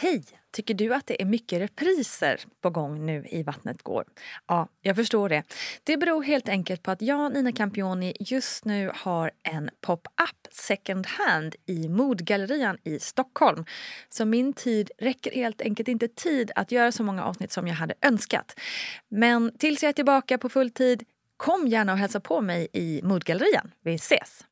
Hej! Tycker du att det är mycket repriser på gång nu i Vattnet går? Ja, jag förstår det. Det beror helt enkelt på att jag, Nina Campioni, just nu har en pop-up second hand i Modgallerian i Stockholm. Så min tid räcker helt enkelt inte tid att göra så många avsnitt som jag hade önskat. Men tills jag är tillbaka på full tid, kom gärna och hälsa på mig i Modgallerian. Vi ses!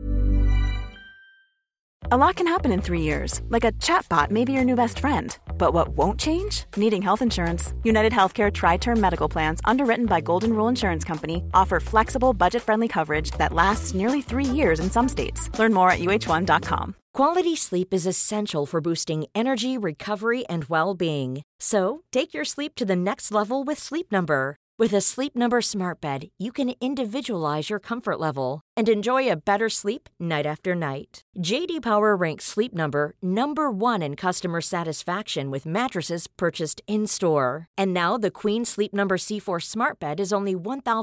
A lot can happen in 3 years, like a chatbot may be your new best friend. But what won't change? Needing health insurance. United Healthcare Tri-Term Medical Plans, underwritten by Golden Rule Insurance Company, offer flexible, budget-friendly coverage that lasts nearly 3 years in some states. Learn more at uh1.com. Quality sleep is essential for boosting energy, recovery, and well-being. So, take your sleep to the next level with Sleep Number. With a Sleep Number smart bed, you can individualize your comfort level and enjoy a better sleep night after night. JD Power ranks Sleep Number #1 in customer satisfaction with mattresses purchased in-store. And now the Queen Sleep Number C4 smart bed is only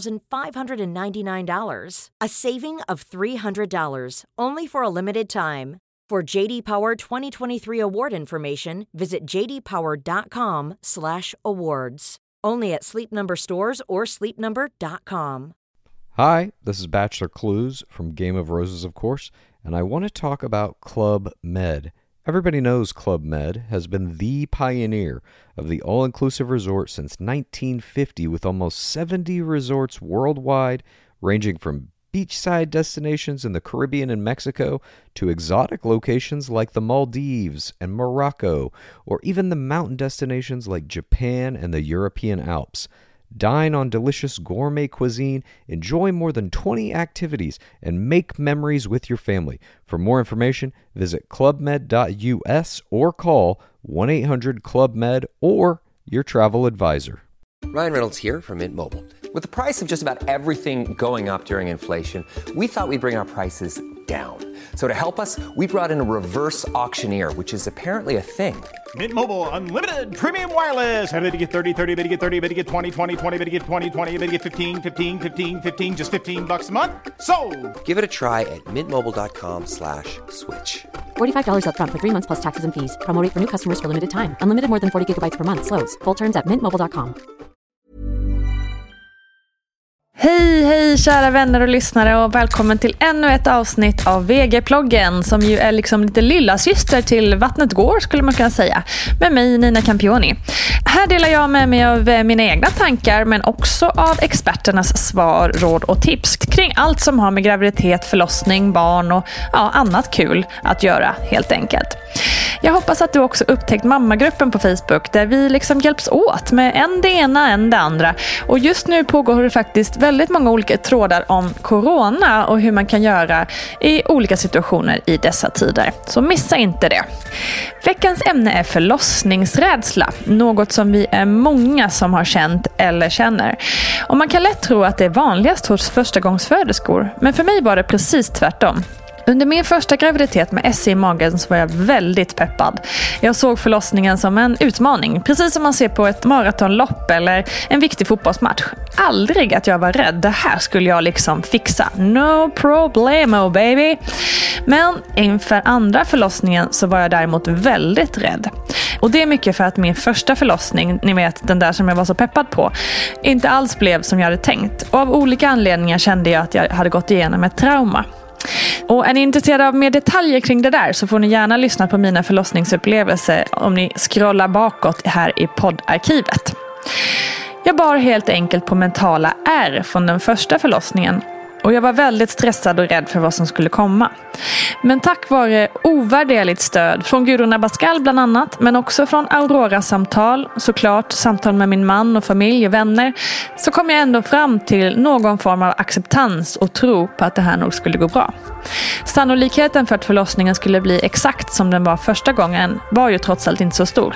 $1,599. A saving of $300, only for a limited time. For JD Power 2023 award information, visit jdpower.com/awards. Only at Sleep Number stores or sleepnumber.com. Hi, this is Bachelor Clues from Game of Roses, of course, and I want to talk about Club Med. Everybody knows Club Med has been the pioneer of the all-inclusive resort since 1950, with almost 70 resorts worldwide, ranging from beachside destinations in the Caribbean and Mexico to exotic locations like the Maldives and Morocco, or even the mountain destinations like Japan and the European Alps. Dine on delicious gourmet cuisine, enjoy more than 20 activities, and make memories with your family. For more information, visit clubmed.us or call 1-800-CLUB-MED or your travel advisor. Ryan Reynolds here from Mint Mobile. With the price of just about everything going up during inflation, we thought we'd bring our prices down. So to help us, we brought in a reverse auctioneer, which is apparently a thing. Mint Mobile Unlimited Premium Wireless. How to get 30, 30, bit to get 30, bit to get 20, 20, 20, bit to get 20, 20, bit to get 15, 15, 15, 15, just $15 a month? Sold! Give it a try at mintmobile.com/switch. $45 up front for 3 months plus taxes and fees. Promo rate for new customers for limited time. Unlimited more than 40 gigabytes per month. Slows full terms at mintmobile.com. Hej kära vänner och lyssnare, och välkommen till ännu ett avsnitt av VG-ploggen, som ju är liksom lite lilla syster till Vattnet går, skulle man kunna säga, med mig Nina Campioni. Här delar jag med mig av mina egna tankar, men också av experternas svar, råd och tips kring allt som har med graviditet, förlossning, barn och annat kul att göra, helt enkelt. Jag hoppas att du också upptäckt mammagruppen på Facebook, där vi liksom hjälps åt med en det ena, en det andra. Och just nu pågår det faktiskt väldigt många olika trådar om corona och hur man kan göra i olika situationer i dessa tider. Så missa inte det. Veckans ämne är förlossningsrädsla, något som vi är många som har känt eller känner. Och man kan lätt tro att det är vanligast hos förstagångsföderskor, men för mig var det precis tvärtom. Under min första graviditet med SE i magen så var jag väldigt peppad. Jag såg förlossningen som en utmaning, precis som man ser på ett maratonlopp eller en viktig fotbollsmatch. Aldrig att jag var rädd, det här skulle jag liksom fixa. No problemo baby. Men inför andra förlossningen så var jag däremot väldigt rädd. Och det är mycket för att min första förlossning, ni vet den där som jag var så peppad på, inte alls blev som jag hade tänkt. Och av olika anledningar kände jag att jag hade gått igenom ett trauma. Och är ni intresserade av mer detaljer kring det där så får ni gärna lyssna på mina förlossningsupplevelser om ni scrollar bakåt här i poddarkivet. Jag bar helt enkelt på mentala ärr från den första förlossningen. Och jag var väldigt stressad och rädd för vad som skulle komma. Men tack vare ovärderligt stöd från Gudrun Abascal bland annat, men också från Aurora-samtal, såklart samtal med min man och familj och vänner, så kom jag ändå fram till någon form av acceptans och tro på att det här nog skulle gå bra. Sannolikheten för att förlossningen skulle bli exakt som den var första gången var ju trots allt inte så stor.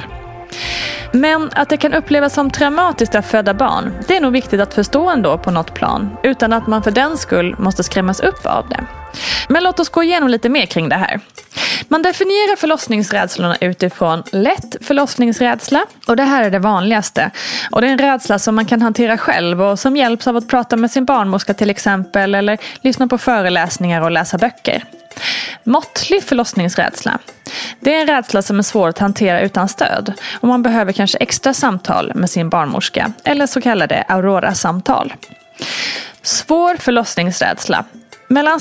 Men att det kan upplevas som traumatiskt att föda barn, det är nog viktigt att förstå ändå på något plan, utan att man för den skull måste skrämmas upp av det. Men låt oss gå igenom lite mer kring det här. Man definierar förlossningsrädslorna utifrån lätt förlossningsrädsla, och det här är det vanligaste. Och det är en rädsla som man kan hantera själv och som hjälps av att prata med sin barnmorska till exempel, eller lyssna på föreläsningar och läsa böcker. Måttlig förlossningsrädsla. Det är en rädsla som är svår att hantera utan stöd och man behöver kanske extra samtal med sin barnmorska eller så kallade Aurora-samtal. Svår förlossningsrädsla. Mellan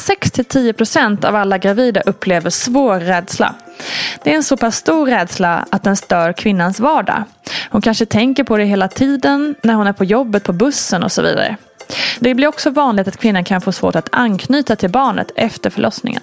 6-10% av alla gravida upplever svår rädsla. Det är en så pass stor rädsla att den stör kvinnans vardag. Hon kanske tänker på det hela tiden när hon är på jobbet, på bussen och så vidare. Det blir också vanligt att kvinnan kan få svårt att anknyta till barnet efter förlossningen.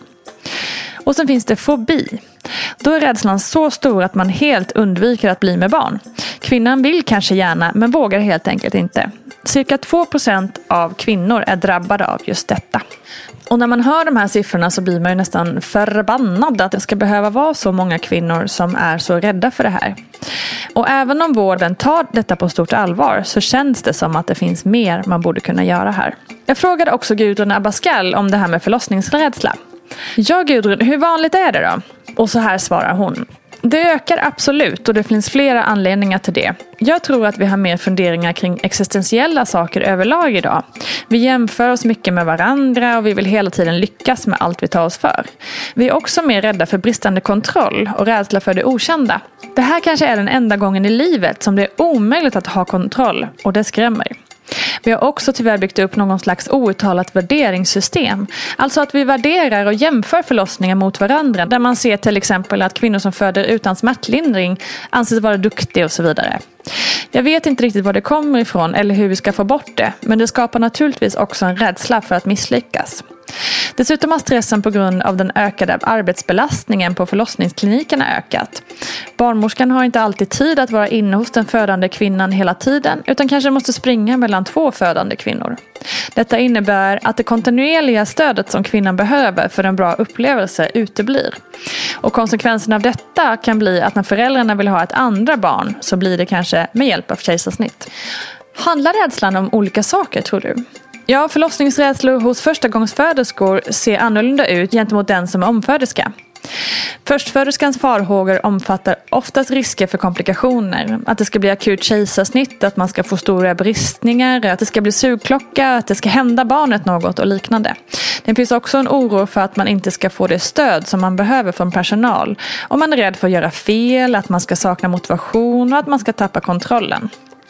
Och sen finns det fobi. Då är rädslan så stor att man helt undviker att bli med barn. Kvinnan vill kanske gärna men vågar helt enkelt inte. Cirka 2% av kvinnor är drabbade av just detta. Och när man hör de här siffrorna så blir man ju nästan förbannad att det ska behöva vara så många kvinnor som är så rädda för det här. Och även om vården tar detta på stort allvar så känns det som att det finns mer man borde kunna göra här. Jag frågade också Gudrun Abascal om det här med förlossningsrädsla. Ja Gudrun, hur vanligt är det då? Och så här svarar hon. Det ökar absolut och det finns flera anledningar till det. Jag tror att vi har mer funderingar kring existentiella saker överlag idag. Vi jämför oss mycket med varandra och vi vill hela tiden lyckas med allt vi tar oss för. Vi är också mer rädda för bristande kontroll och rädsla för det okända. Det här kanske är den enda gången i livet som det är omöjligt att ha kontroll och det skrämmer. Vi har också tyvärr byggt upp någon slags outtalat värderingssystem. Alltså att vi värderar och jämför förlossningar mot varandra. Där man ser till exempel att kvinnor som föder utan smärtlindring anses vara duktiga och så vidare. Jag vet inte riktigt var det kommer ifrån eller hur vi ska få bort det. Men det skapar naturligtvis också en rädsla för att misslyckas. Dessutom har stressen på grund av den ökade arbetsbelastningen på förlossningsklinikerna ökat. Barnmorskan har inte alltid tid att vara inne hos den födande kvinnan hela tiden utan kanske måste springa mellan 2 födande kvinnor. Detta innebär att det kontinuerliga stödet som kvinnan behöver för en bra upplevelse uteblir. Och konsekvensen av detta kan bli att när föräldrarna vill ha ett andra barn så blir det kanske med hjälp av kejsarsnitt. Handlar rädslan om olika saker tror du? Ja, förlossningsrädslor hos förstagångsföderskor ser annorlunda ut gentemot den som är omföderska. Förstföderskans farhågor omfattar oftast risker för komplikationer. Att det ska bli akut kejsarsnitt, att man ska få stora bristningar, att det ska bli sugklocka, att det ska hända barnet något och liknande. Det finns också en oro för att man inte ska få det stöd som man behöver från personal. Och man är rädd för att göra fel, att man ska sakna motivation och att man ska tappa kontrollen.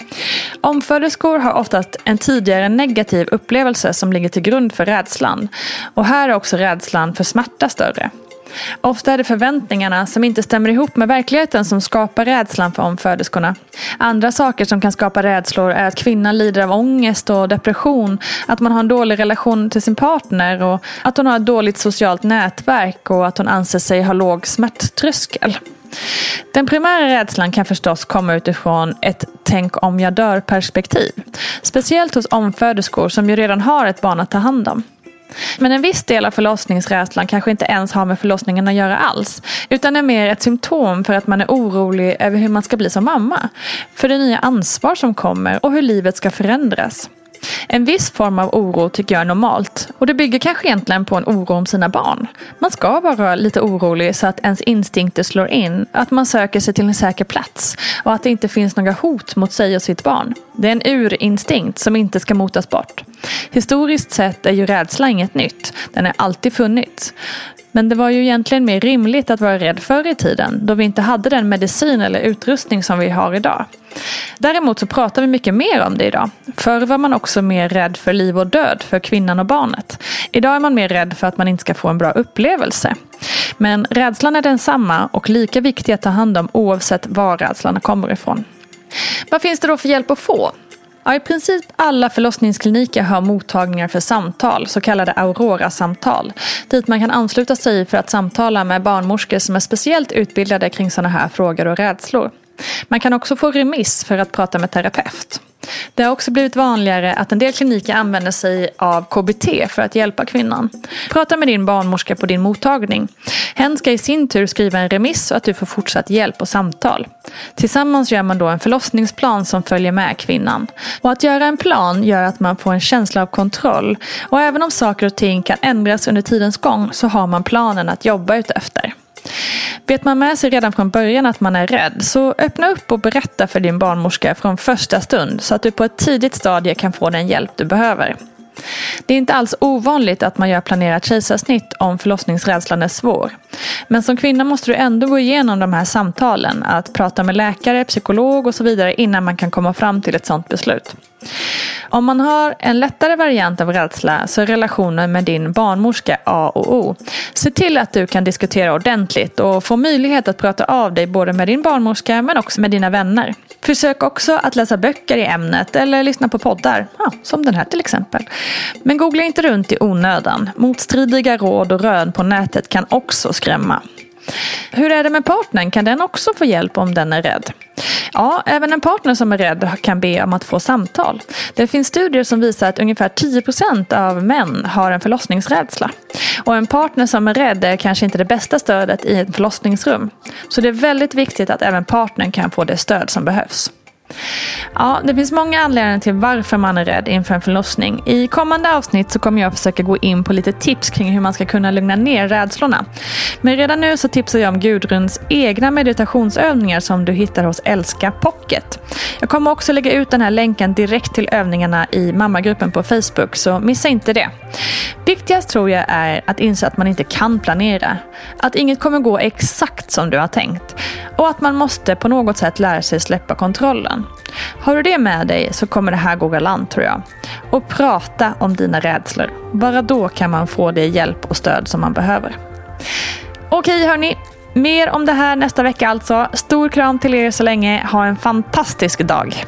Omföderskor har oftast en tidigare negativ upplevelse som ligger till grund för rädslan. Och här är också rädslan för smärta större. Ofta är det förväntningarna som inte stämmer ihop med verkligheten som skapar rädslan för omföderskorna. Andra saker som kan skapa rädslor är att kvinnan lider av ångest och depression, att man har en dålig relation till sin partner och att hon har ett dåligt socialt nätverk och att hon anser sig ha låg smärttröskel. Den primära rädslan kan förstås komma utifrån ett tänk om jag dör perspektiv. Speciellt hos omföderskor som ju redan har ett barn att ta hand om. Men en viss del av förlossningsrädslan kanske inte ens har med förlossningen att göra alls. Utan är mer ett symptom för att man är orolig över hur man ska bli som mamma. För det nya ansvar som kommer och hur livet ska förändras. En viss form av oro tycker jag är normalt. Och det bygger kanske egentligen på en oro om sina barn. Man ska vara lite orolig så att ens instinkter slår in. Att man söker sig till en säker plats. Och att det inte finns några hot mot sig och sitt barn. Det är en urinstinkt som inte ska motas bort. Historiskt sett är ju rädsla inget nytt. Den har alltid funnits. Men det var ju egentligen mer rimligt att vara rädd förr i tiden, då vi inte hade den medicin eller utrustning som vi har idag. Däremot så pratar vi mycket mer om det idag. Förr var man också mer rädd för liv och död för kvinnan och barnet. Idag är man mer rädd för att man inte ska få en bra upplevelse. Men rädslan är densamma och lika viktig att ta hand om oavsett var rädslan kommer ifrån. Vad finns det då för hjälp att få? Ja, i princip alla förlossningskliniker har mottagningar för samtal, så kallade Aurora-samtal, dit man kan ansluta sig för att samtala med barnmorskor som är speciellt utbildade kring sådana här frågor och rädslor. Man kan också få remiss för att prata med terapeut. Det har också blivit vanligare att en del kliniker använder sig av KBT för att hjälpa kvinnan. Prata med din barnmorska på din mottagning. Hen ska i sin tur skriva en remiss så att du får fortsatt hjälp och samtal. Tillsammans gör man då en förlossningsplan som följer med kvinnan. Och att göra en plan gör att man får en känsla av kontroll. Och även om saker och ting kan ändras under tidens gång så har man planen att jobba utefter. Vet man med sig redan från början att man är rädd, så öppna upp och berätta för din barnmorska från första stund så att du på ett tidigt stadie kan få den hjälp du behöver. Det är inte alls ovanligt att man gör planerat kejsarsnitt om förlossningsrädslan är svår. Men som kvinna måste du ändå gå igenom de här samtalen, att prata med läkare, psykolog och så vidare innan man kan komma fram till ett sådant beslut. Om man har en lättare variant av rädsla så är relationen med din barnmorska A och O. Se till att du kan diskutera ordentligt och få möjlighet att prata av dig både med din barnmorska men också med dina vänner. Försök också att läsa böcker i ämnet eller lyssna på poddar, som den här till exempel. Men googla inte runt i onödan. Motstridiga råd och rön på nätet kan också skrämma. Hur är det med partnern? Kan den också få hjälp om den är rädd? Ja, även en partner som är rädd kan be om att få samtal. Det finns studier som visar att ungefär 10% av män har en förlossningsrädsla. Och en partner som är rädd är kanske inte det bästa stödet i ett förlossningsrum. Så det är väldigt viktigt att även partnern kan få det stöd som behövs. Ja, det finns många anledningar till varför man är rädd inför en förlossning. I kommande avsnitt så kommer jag försöka gå in på lite tips kring hur man ska kunna lugna ner rädslorna. Men redan nu så tipsar jag om Gudruns egna meditationsövningar som du hittar hos Älska Pocket. Jag kommer också lägga ut den här länken direkt till övningarna i mammagruppen på Facebook, så missa inte det. Viktigast tror jag är att inse att man inte kan planera. Att inget kommer gå exakt som du har tänkt. Och att man måste på något sätt lära sig släppa kontrollen. Har du det med dig så kommer det här gå galant, tror jag. Och prata om dina rädslor. Bara då kan man få det hjälp och stöd som man behöver. Okej hörni, mer om det här nästa vecka alltså. Stor kram till er så länge. Ha en fantastisk dag.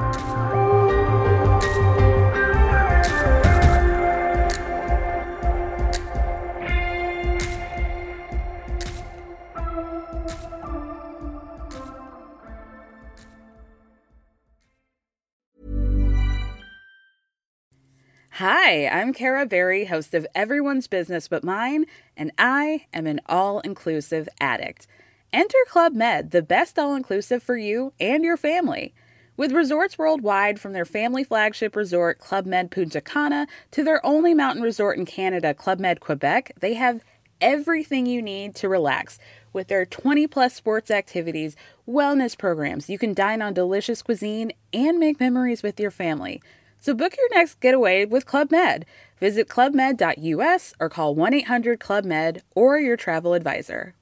Hi, I'm Cara Berry, host of Everyone's Business But Mine, and I am an all-inclusive addict. Enter Club Med, the best all-inclusive for you and your family. With resorts worldwide, from their family flagship resort, Club Med Punta Cana, to their only mountain resort in Canada, Club Med Quebec, they have everything you need to relax. With their 20-plus sports activities, wellness programs, you can dine on delicious cuisine and make memories with your family. So book your next getaway with Club Med. Visit clubmed.us or call 1-800-CLUB-MED or your travel advisor.